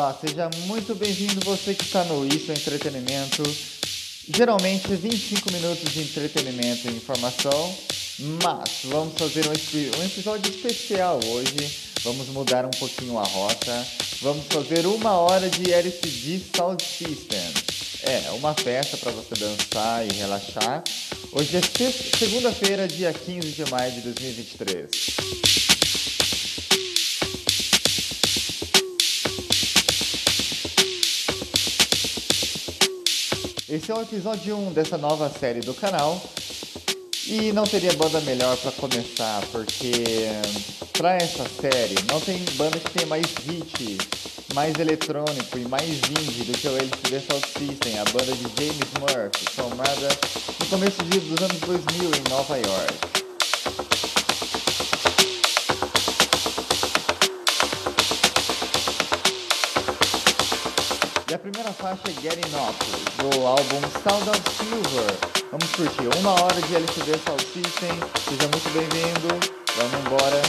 Olá, seja muito bem-vindo você que está no Isso é Entretenimento. Geralmente 25 minutos de entretenimento e informação, mas vamos fazer um episódio especial hoje. Vamos mudar um pouquinho a rota. Vamos fazer 1 hora de LCD Sound System. É uma festa para você dançar e relaxar. Hoje é segunda-feira, dia 15 de maio de 2023. Esse é o episódio 1 dessa nova série do canal. E não teria banda melhor para começar, porque para essa série não tem banda que tenha mais hit, mais eletrônico e mais indie do que o LCD Sound System, a banda de James Murphy, formada no começo dos anos 2000 em Nova York. E a primeira faixa é Getting Up, do álbum Sound of Silver. Vamos curtir 1 hora de LCD Sound System. Seja muito bem-vindo. Vamos embora.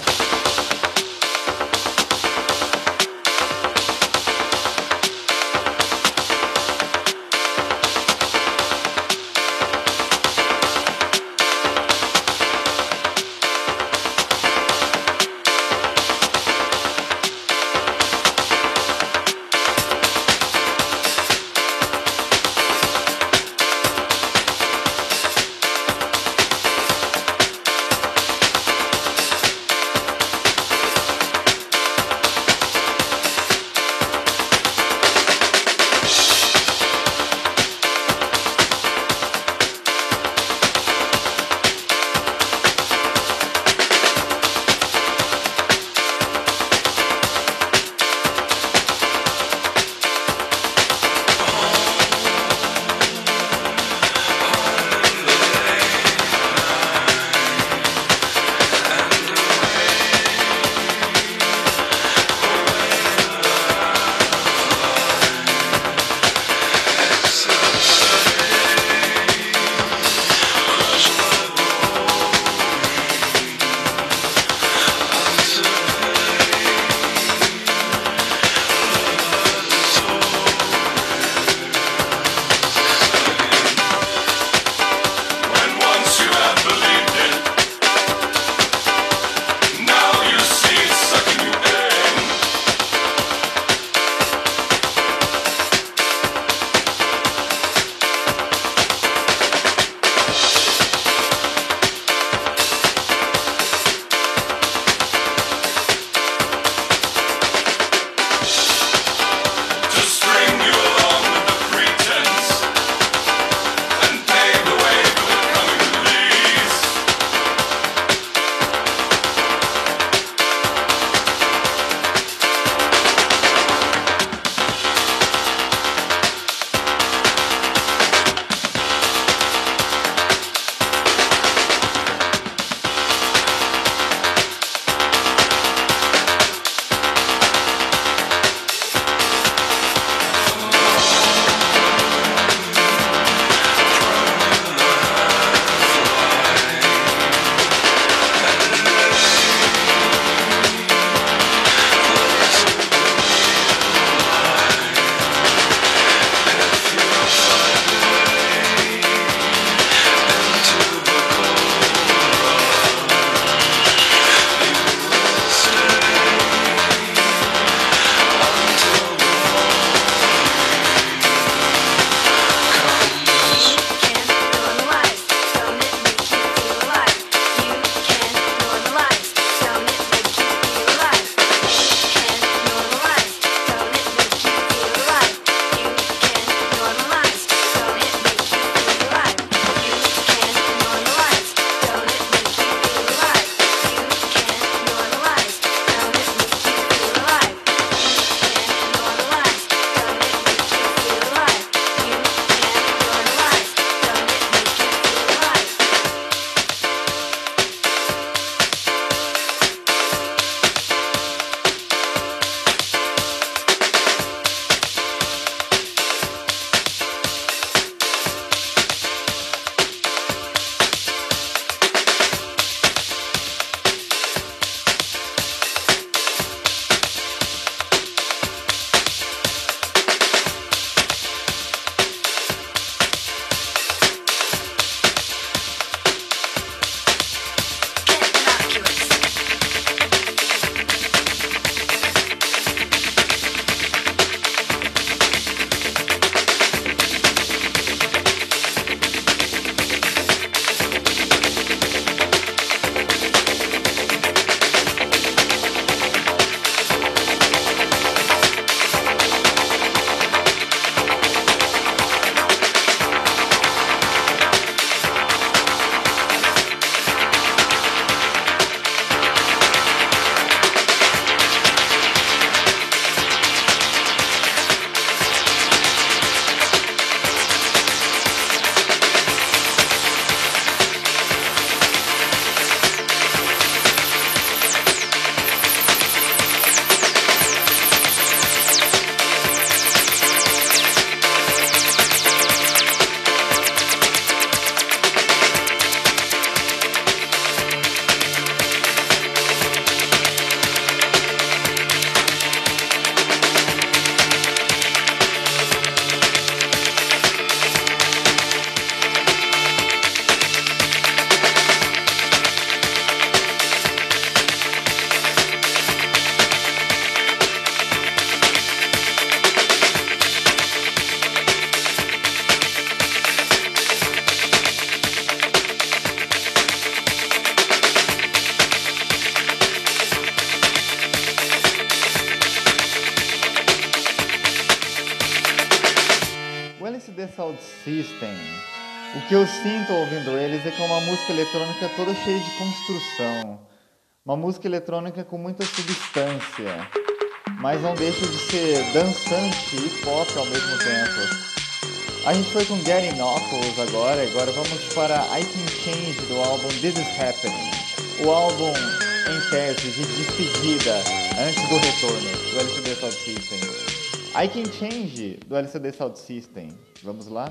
System. O que eu sinto ouvindo eles é que é uma música eletrônica toda cheia de construção. Uma música eletrônica com muita substância, mas não deixa de ser dançante e pop ao mesmo tempo. A gente foi com Getting Knuckles agora vamos para I Can Change do álbum This Is Happening. O álbum em tese de despedida antes do retorno do LCD Sound System. I Can Change do LCD Sound System. Vamos lá?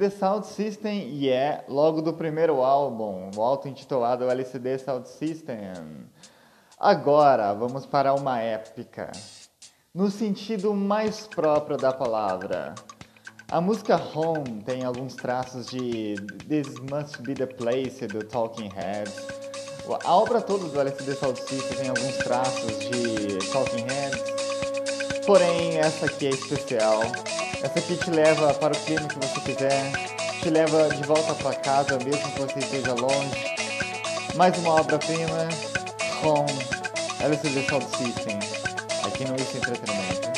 LCD Sound System e é logo do primeiro álbum, o auto-intitulado LCD Sound System. Agora vamos para uma épica, no sentido mais próprio da palavra. A música Home tem alguns traços de This Must Be The Place do Talking Heads. A obra toda do LCD Sound System tem alguns traços de Talking Heads. Porém, essa aqui é especial. Essa aqui te leva para o clima que você quiser, te leva de volta para casa, mesmo que você esteja longe. Mais uma obra-prima com LCD Sound System, aqui no Isso Entretenimento.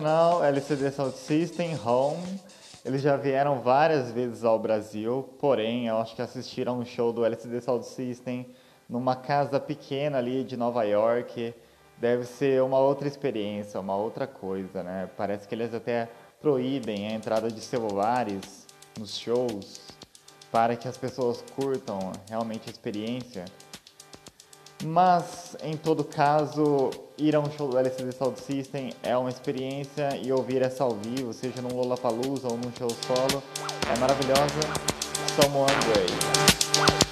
internacional, LCD Sound System, Home. Eles já vieram várias vezes ao Brasil, porém, eu acho que assistiram um show do LCD Sound System numa casa pequena ali de Nova York. Deve ser uma outra experiência, uma outra coisa, né? Parece que eles até proíbem a entrada de celulares nos shows para que as pessoas curtam realmente a experiência. Mas, em todo caso, ir a um show do LCD Sound System é uma experiência e ouvir essa ao vivo, seja num Lollapalooza ou num show solo, é maravilhosa. Someone Great.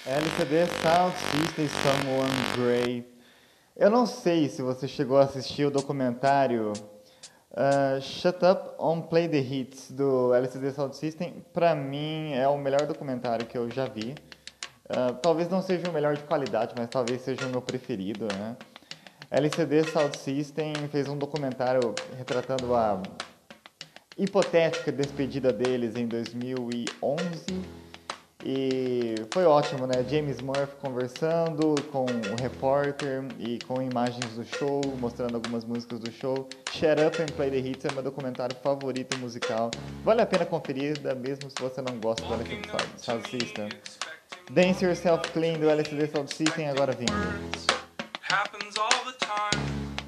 LCD Sound System Someone Great. Eu não sei se você chegou a assistir o documentário Shut Up on Play the Hits do LCD Sound System. Pra mim é o melhor documentário que eu já vi. Talvez não seja o melhor de qualidade, mas talvez seja o meu preferido, né? LCD Sound System fez um documentário retratando a hipotética despedida deles em 2011 e foi ótimo, né? James Murphy conversando com o repórter e com imagens do show, mostrando algumas músicas do show. Shut Up and Play the Hits é meu documentário favorito musical. Vale a pena conferir, mesmo se você não gosta do LCD Sound System. Dance Yourself Clean do LCD Sound System agora vindo. Happens all the time.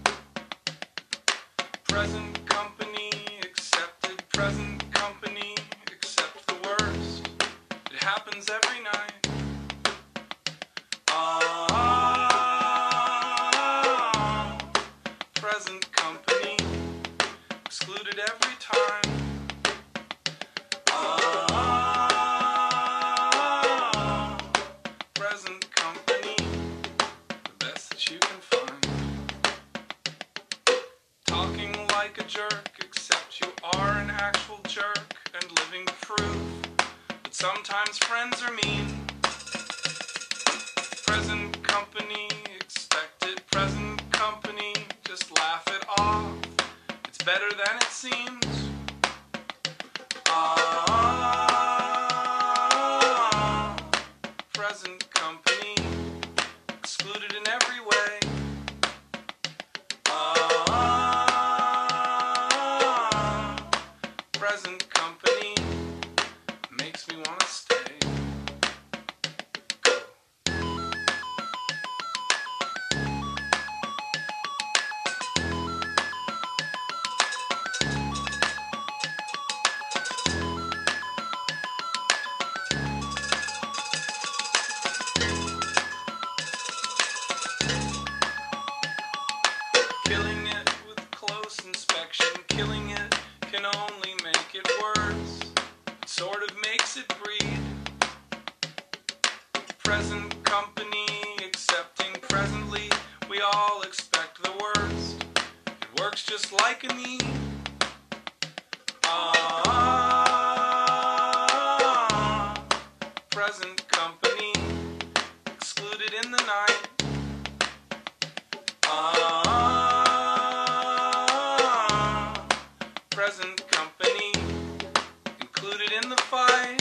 Present company accepted. Present company accept the worst. It happens every night. Present company excluded every time. Present company, the best that you can find. Talking like a jerk, except you are an actual jerk and living proof that sometimes friends are mean. Present company expected, present company, just laugh it off. It's better than it seems. Present company excluded in every way. Present company makes me want to stay. Killing it with close inspection, killing it can only make it worse. It sort of makes it breed. Present company accepting presently, we all expect the worst. It works just like a need. Present company excluded in the night. Present company included in the fight.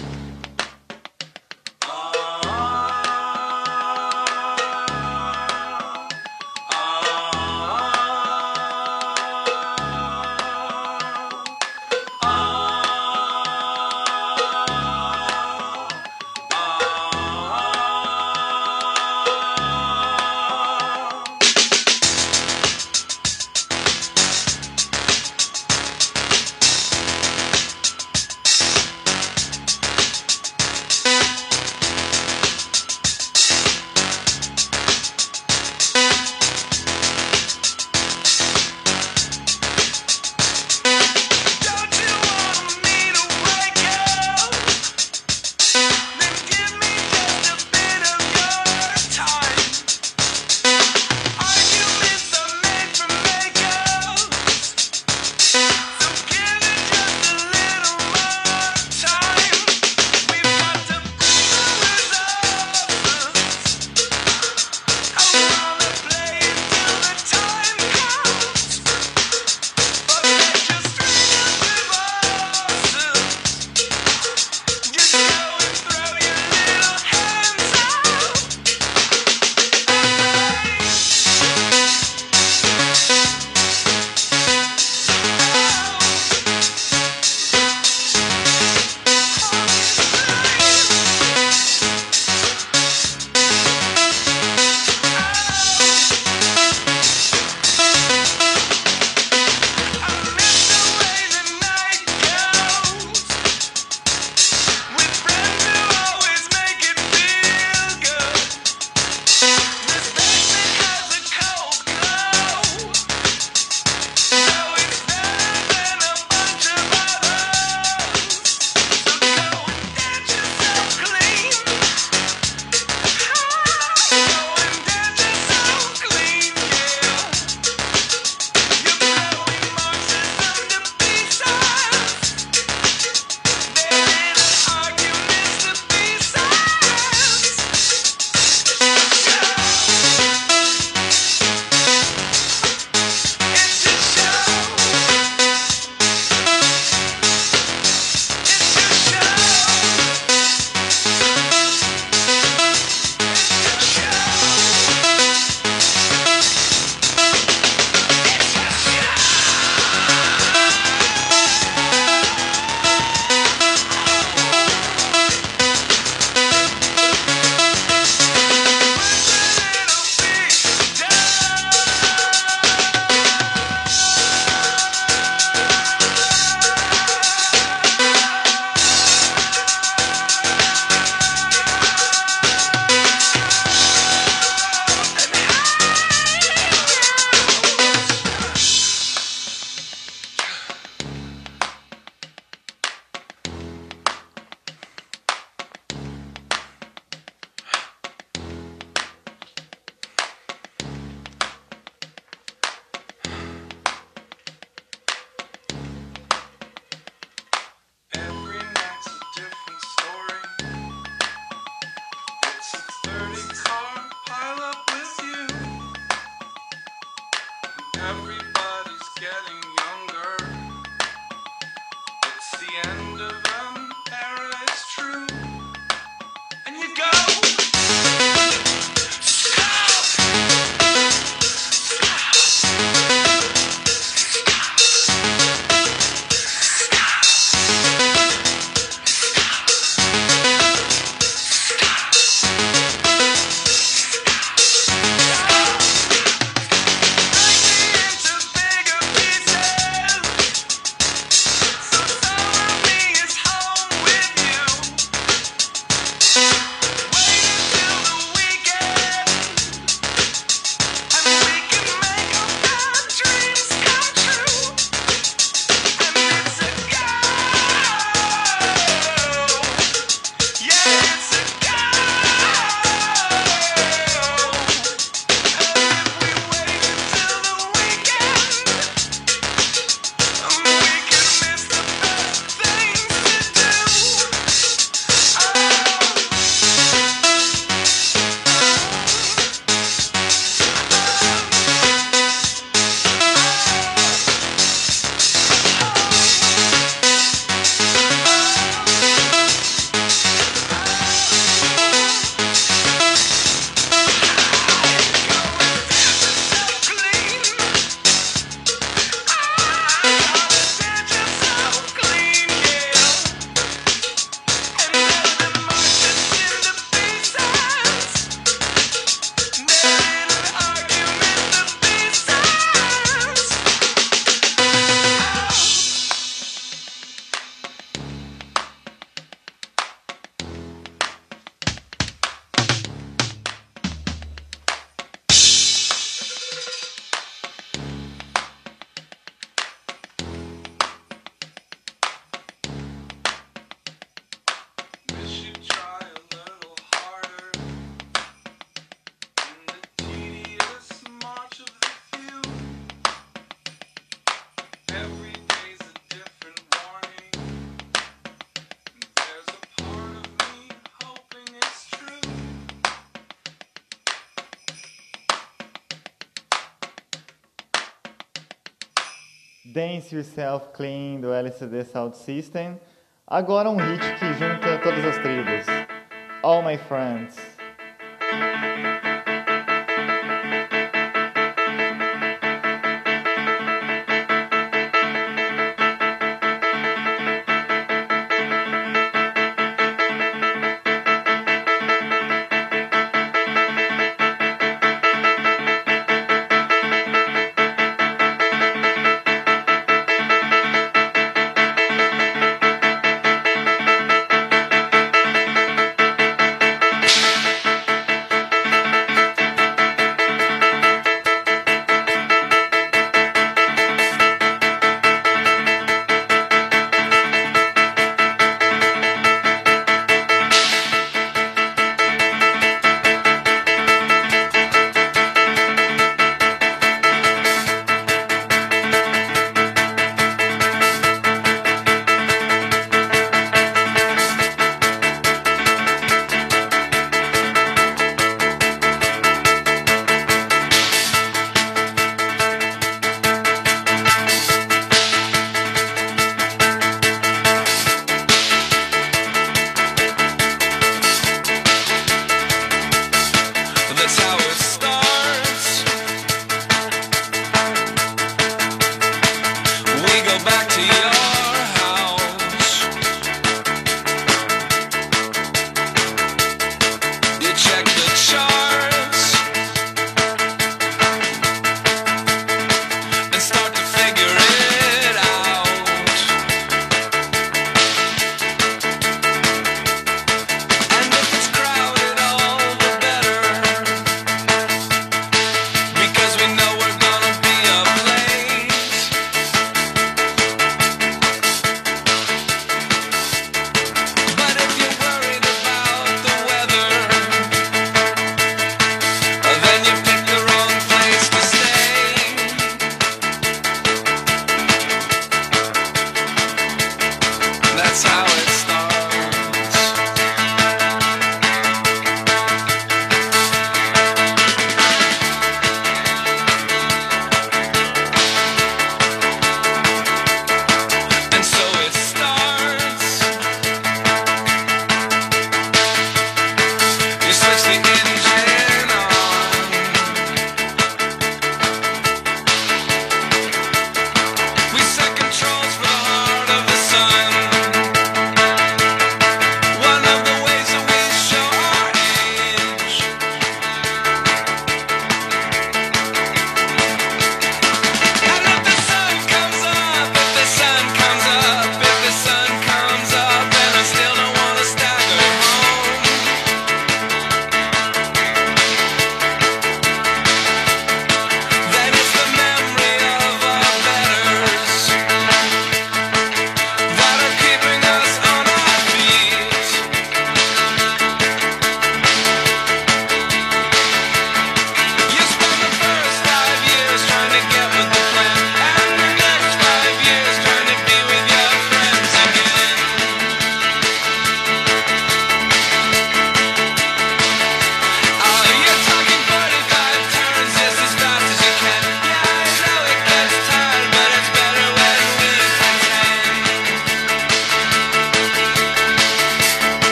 Dance Yourself Clean do LCD Sound System. Agora um hit que junta todas as tribos. All My Friends.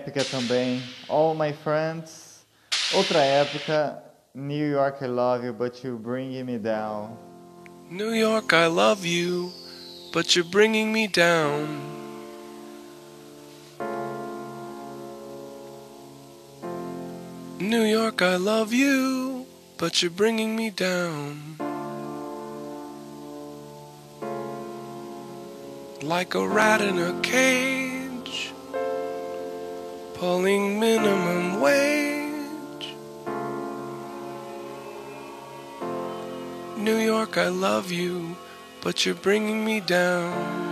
épica também, All My Friends. Outra época, New York I Love You, But You're Bringing Me Down. New York, I love you, but you're bringing me down. New York, I love you, but you're bringing me down. Like a rat in a cage, pulling minimum wage. New York, I love you, but you're bringing me down.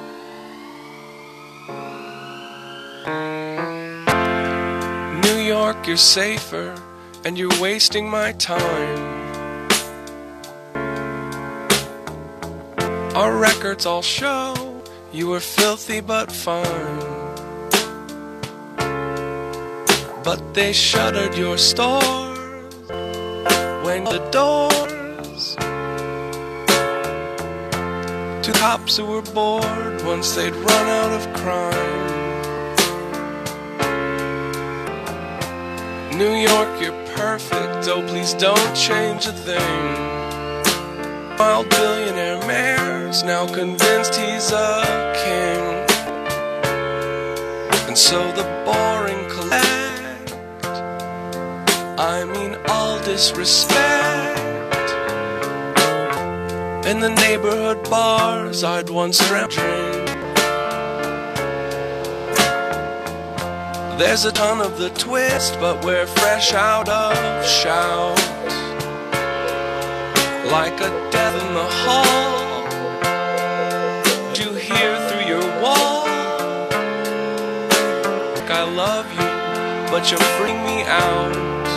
New York, you're safer, and you're wasting my time. Our records all show you were filthy but fine. But they shuttered your stores when the doors to cops who were bored once they'd run out of crime. New York, you're perfect, oh please don't change a thing. Wild billionaire mayor's now convinced he's a king. And so the boring collect, I mean all disrespect. In the neighborhood bars I'd once drink. There's a ton of the twist, but we're fresh out of shout. Like a death in the hall, you hear through your wall. I love you, but you bring me out.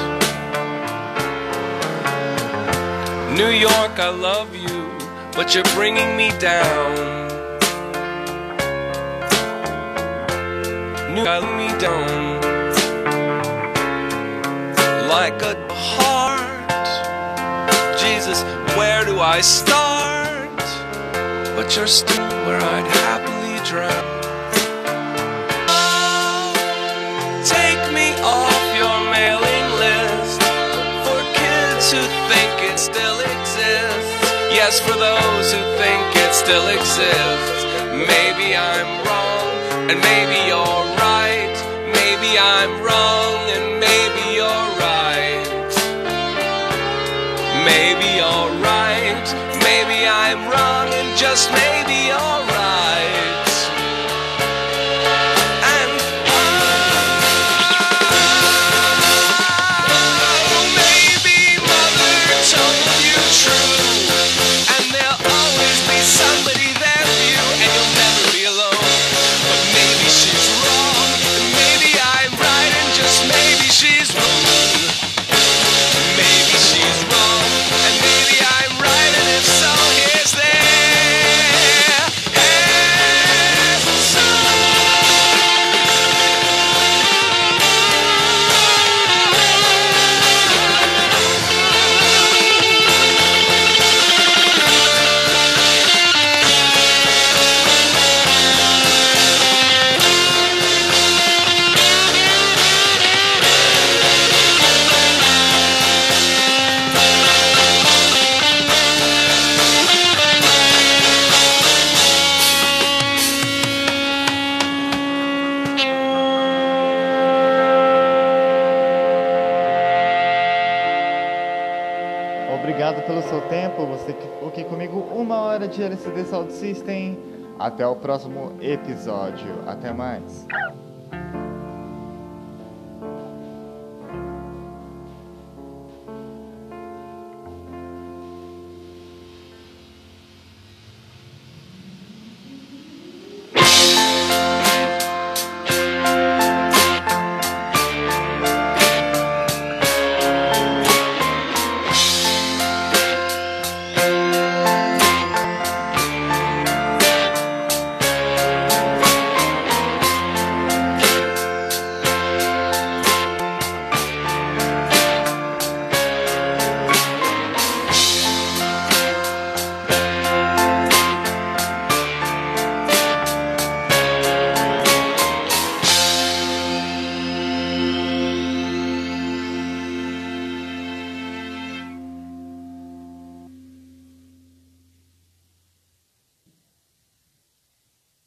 New York, I love you, but you're bringing me down. New York, me down. Like a heart, Jesus, where do I start? But you're still where I'd happily drown. Oh, take me off your mailing list for kids who think it still exists. Yes, for those who think it still exists. Maybe I'm wrong, and maybe you're right. Maybe I'm wrong, and maybe you're right. Maybe you're right, maybe I'm wrong, and just maybe you're right. And oh, maybe mother told you true, and there'll always be somebody there for you, and you'll never be alone. But maybe she's wrong, and maybe I'm right, and just maybe she's wrong. Maybe she's wrong, and maybe I'm right, and if so, here's their Obrigado pelo seu tempo, você que ficou aqui comigo 1 hora de LCD Sound System. Até o próximo episódio. Até mais.